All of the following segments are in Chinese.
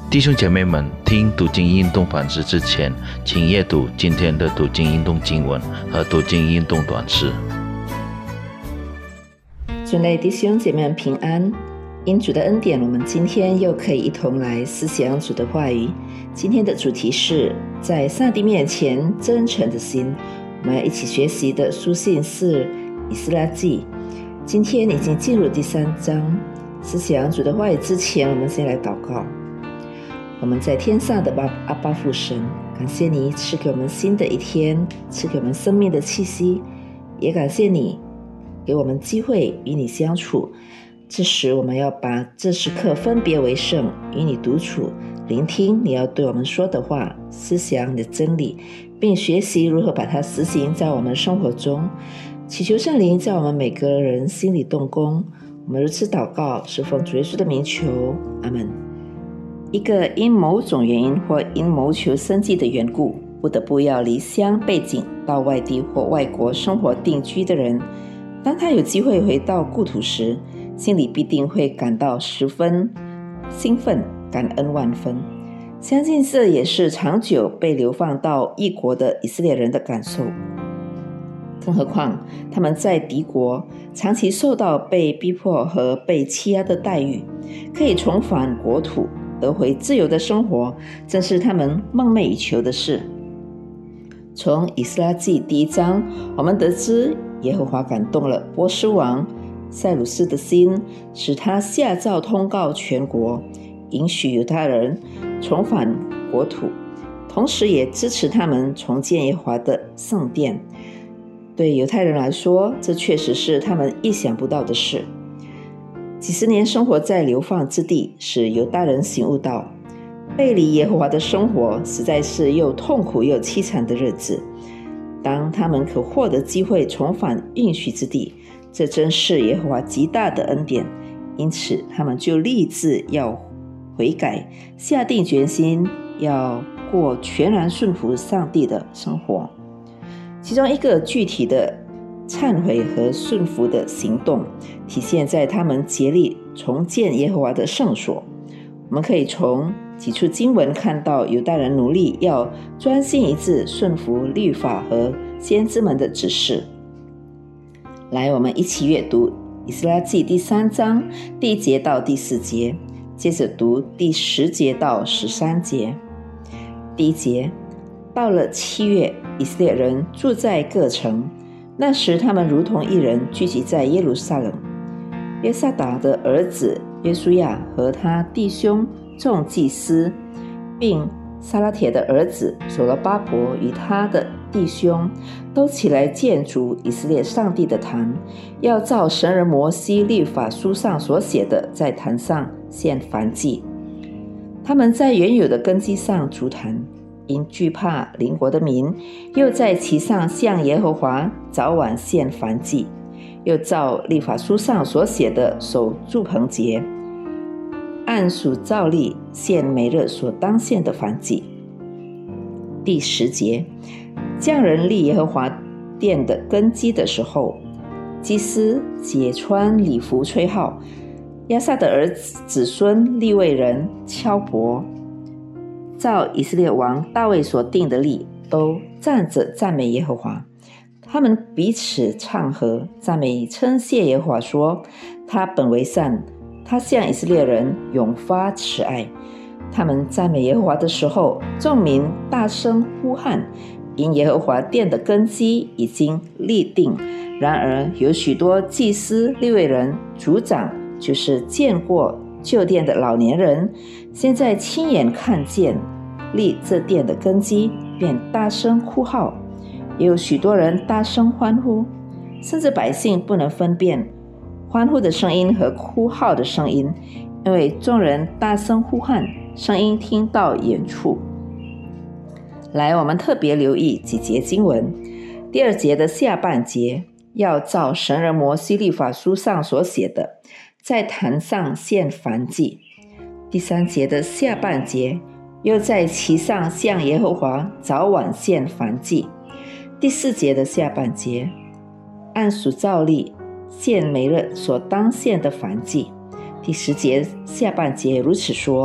弟兄姐妹们，听读经运动反思之前，请阅读今天的读经运动经文和读经运动短诗。 主内弟兄姐妹们平安，因主的恩典，我们今天又可以一同来思想主的话语。今天的主题是在上帝面前真诚的心，我们要一起学习的书信是以斯拉记。今天已经进入第3章，思想主的话语之前，我们先来祷告。我们在天上的阿爸父神，感谢你赐给我们新的一天，赐给我们生命的气息，也感谢你给我们机会与你相处。这时我们要把这时刻分别为圣，与你独处，聆听你要对我们说的话，思想你的真理，并学习如何把它实行在我们生活中。祈求圣灵在我们每个人心里动工。我们如此祷告，是奉主耶稣的名求，阿们。一个因某种原因或因谋求生计的缘故，不得不要离乡背井到外地或外国生活定居的人，当他有机会回到故土时，心里必定会感到十分兴奋，感恩万分。相信这也是长久被流放到异国的以色列人的感受。更何况他们在敌国长期受到被逼迫和被欺压的待遇，可以重返国土，得回自由的生活，正是他们梦寐以求的事。从以斯拉记第1章，我们得知耶和华感动了波斯王塞鲁斯的心，使他下诏通告全国，允许犹太人重返国土，同时也支持他们重建耶和华的圣殿。对犹太人来说，这确实是他们意想不到的事。几十年生活在流放之地，使犹大人醒悟到，背离耶和华的生活实在是又痛苦又凄惨的日子。当他们可获得机会重返应许之地，这真是耶和华极大的恩典，因此他们就立志要悔改，下定决心要过全然顺服上帝的生活。其中一个具体的忏悔和顺服的行动，体现在他们竭力重建耶和华的圣所。我们可以从几处经文看到犹大人努力要专心一致顺服律法和先知们的指示。来，我们一起阅读以斯拉记第3章第1节到第4节，接着读第10节到13节。第1节，到了7月，以色列人住在各城，那时他们如同一人聚集在耶路撒冷。约萨达的儿子约书亚和他弟兄众祭司，并撒拉铁的儿子所罗巴伯与他的弟兄，都起来建筑以色列上帝的坛，要照神人摩西律法书上所写的，在坛上献燔祭。他们在原有的根基上筑坛，因惧怕邻国的民，又在其上向耶和华早晚献燔祭，又照律法书上所写的守住棚节，按数照例献每日所当献的燔祭。第10节，匠人立耶和华殿的根基的时候，祭司解穿礼服吹号，亚萨的儿子孙利未人敲钹，照以色列王大卫所定的例，都站着赞美耶和华。他们彼此唱和，赞美称谢耶和华，说：他本为善，他向以色列人永发慈爱。他们赞美耶和华的时候，众民大声呼喊，因耶和华殿的根基已经立定。然而有许多祭司、利未人、族长，就是见过旧殿的老年人，现在亲眼看见立这殿的根基，便大声哭号。也有许多人大声欢呼，甚至百姓不能分辨欢呼的声音和哭号的声音，因为众人大声呼喊，声音听到远处。来，我们特别留意几节经文。第2节的下半节，要照神人摩西律法书上所写的，在坛上献燔祭。第3节的下半节，又在其上向耶和华早晚献燔祭。第4节的下半节，按数照例献每日所当献的燔祭。第10节下半节如此说：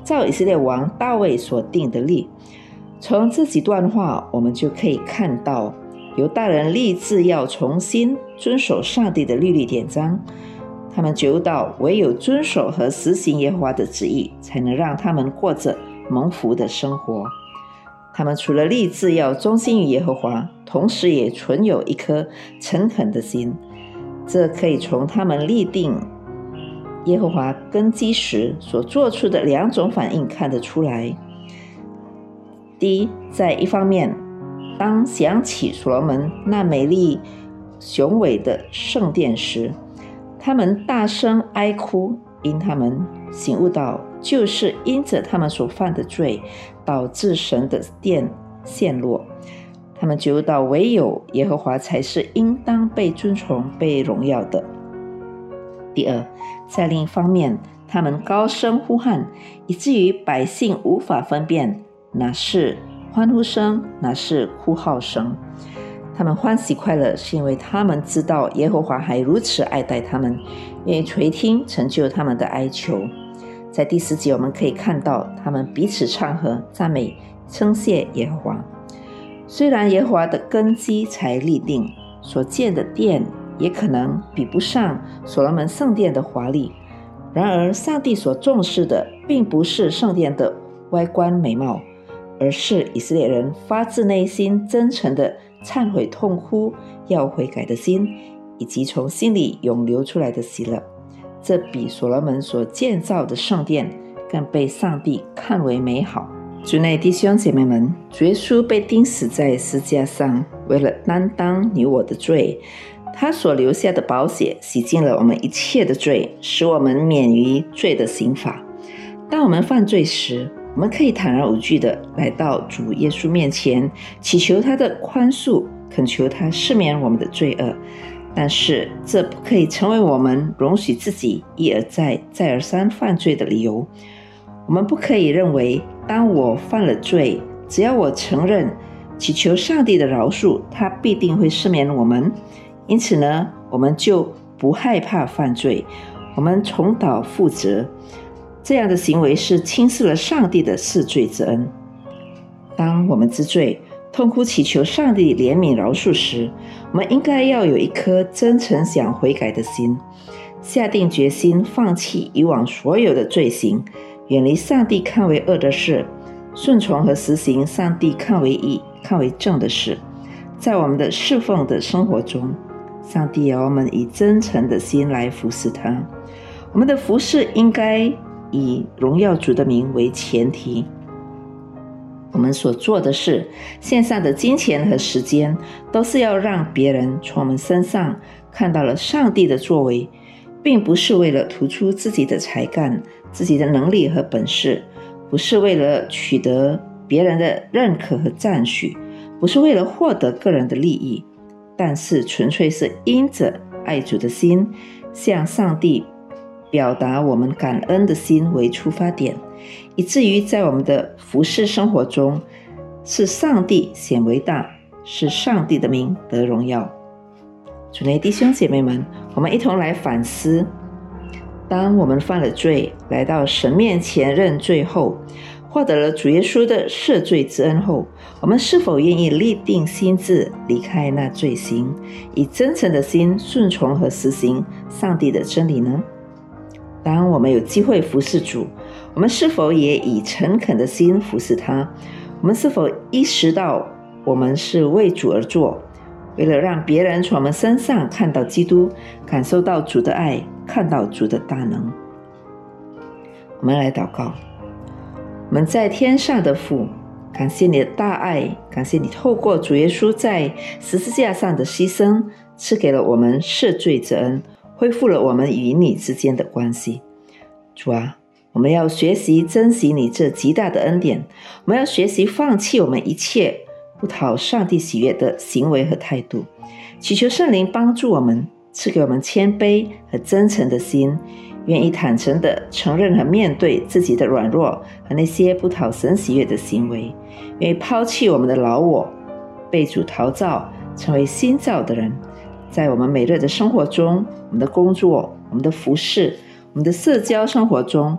照以色列王大卫所定的例。从这几段话，我们就可以看到犹大人立志要重新遵守上帝的律例典章。他们觉悟到唯有遵守和实行耶和华的旨意，才能让他们过着蒙福的生活。他们除了立志要忠心于耶和华，同时也存有一颗诚恳的心。这可以从他们立定耶和华根基时所做出的2种反应看得出来。第一，在一方面，当想起所罗门那美丽雄伟的圣殿时，他们大声哀哭，因他们醒悟到，就是因着他们所犯的罪，导致神的殿陷落。他们觉悟到唯有耶和华才是应当被尊崇、被荣耀的。第二，在另一方面，他们高声呼喊，以至于百姓无法分辨哪是欢呼声，哪是哭号声。他们欢喜快乐，是因为他们知道耶和华还如此爱戴他们，愿意垂听成就他们的哀求。在第10节，我们可以看到他们彼此唱和，赞美称谢耶和华。虽然耶和华的根基才立定，所建的殿也可能比不上所罗门圣殿的华丽，然而上帝所重视的并不是圣殿的外观美貌，而是以色列人发自内心真诚的忏悔痛哭要悔改的心，以及从心里涌流出来的喜乐。这比所罗门所建造的圣殿更被上帝看为美好。主内弟兄姐妹们，主耶稣被钉死在十字架上，为了担当你我的罪，他所留下的宝血洗净了我们一切的罪，使我们免于罪的刑罚。当我们犯罪时，我们可以坦然无惧地来到主耶稣面前，祈求他的宽恕，恳求他赦免我们的罪恶。但是这不可以成为我们容许自己一而再再而三犯罪的理由。我们不可以认为，当我犯了罪，只要我承认，祈求上帝的饶恕，他必定会赦免我们。因此呢，我们就不害怕犯罪，我们重蹈覆辙。这样的行为是轻视了上帝的赦罪之恩。当我们知罪，痛哭祈求上帝怜悯饶恕时，我们应该要有一颗真诚想悔改的心，下定决心放弃以往所有的罪行，远离上帝看为恶的事，顺从和实行上帝看为义、看为正的事。在我们的侍奉的生活中，上帝要我们以真诚的心来服侍他。我们的服侍应该以荣耀主的名为前提。我们所做的事，献上的金钱和时间，都是要让别人从我们身上看到了上帝的作为，并不是为了突出自己的才干、自己的能力和本事，不是为了取得别人的认可和赞许，不是为了获得个人的利益，但是纯粹是因着爱主的心，向上帝表达我们感恩的心为出发点，以至于在我们的服事生活中，是上帝显为大，是上帝的名得荣耀。主内弟兄姐妹们，我们一同来反思，当我们犯了罪，来到神面前认罪后，获得了主耶稣的赦罪之恩后，我们是否愿意立定心志，离开那罪行，以真诚的心顺从和实行上帝的真理呢？当我们有机会服侍主，我们是否也以诚恳的心服侍他？我们是否意识到我们是为主而做，为了让别人从我们身上看到基督，感受到主的爱，看到主的大能？我们来祷告。我们在天上的父，感谢你的大爱，感谢你透过主耶稣在十字架上的牺牲，赐给了我们赦罪之恩，恢复了我们与你之间的关系。主啊，我们要学习珍惜你这极大的恩典，我们要学习放弃我们一切不讨上帝喜悦的行为和态度，祈求圣灵帮助我们，赐给我们谦卑和真诚的心，愿意坦诚地承认和面对自己的软弱和那些不讨神喜悦的行为，愿意抛弃我们的老我，被主陶造，成为新造的人。在我们每日的生活中，我们的工作，我们的服事，我们的社交生活中，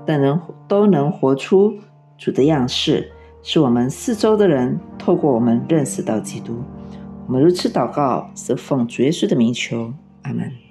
都能活出主的样式，使我们四周的人透过我们认识到基督。我们如此祷告，是奉主耶稣的名求，阿们。